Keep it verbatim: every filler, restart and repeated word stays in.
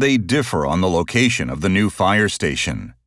They differ on the location of the new fire station.